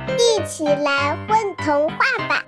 一起来混童话吧！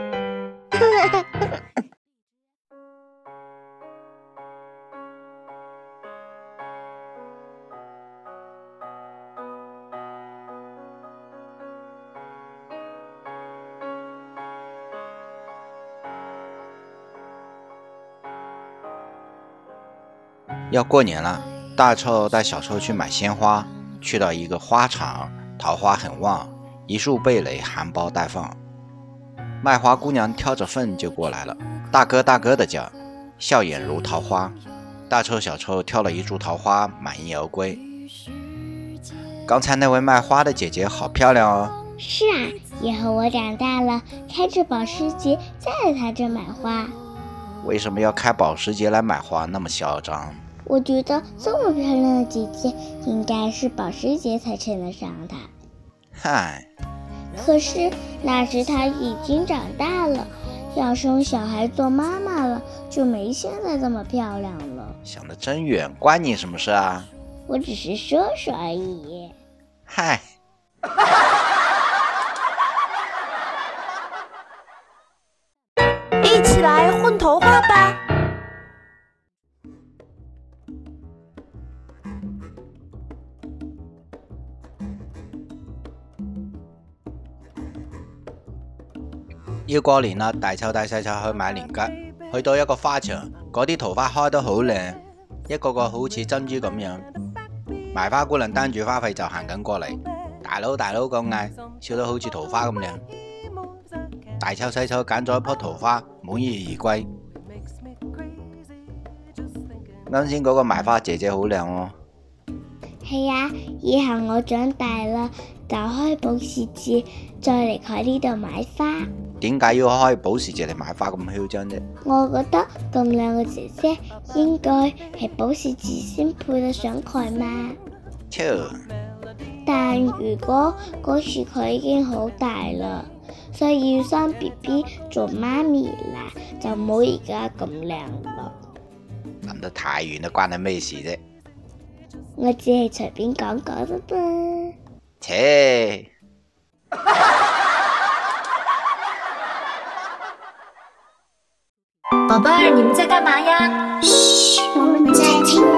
要过年了，大臭带小臭去买鲜花，去到一个花场，桃花很旺，一树蓓蕾，含苞待放。卖花姑娘挑着粪就过来了，大哥大哥的叫，笑眼如桃花。大臭小臭挑了一束桃花，满意而归。刚才那位卖花的姐姐好漂亮哦。 是啊，以后我长大了，开着保时捷再来她这买花。 为什么要开保时捷来买花，那么嚣张？ 我觉得这么漂亮的姐姐，应该是保时捷才称得上她。 嗨， 可是那时她已经长大了，要生小孩做妈妈了，就没现在这么漂亮了。 想得真远，关你什么事啊？ 我只是说说而已。 嗨， 一起来混童话吧！ 要過年啦，大臭帶細臭去買年桔，去到一個花場，嗰啲桃花開得好靚，一個個好似珍珠咁樣。賣花姑娘擔住花費就行緊過嚟，大佬大佬咁嗌，笑得好似桃花咁靚。大臭細臭揀咗一棵桃花，滿意而歸。啱先嗰個賣花姐姐好靚喎。 係啊，以後我長大啦，就開保時捷，再離開呢度買花。 點解要開保時捷嚟買花咁囂張啫？ 我覺得咁靚嘅姐姐應該係保時捷先配得上佢嘛。但如果嗰時佢已經好大啦，所以要生 BB 做媽咪啦，就冇而家咁靚啦。 諗得太遠啦，關你咩事啫？ 我只係隨便講講啫噃。 切！ 宝贝儿，你们在干嘛呀？ 嘘，我们在聽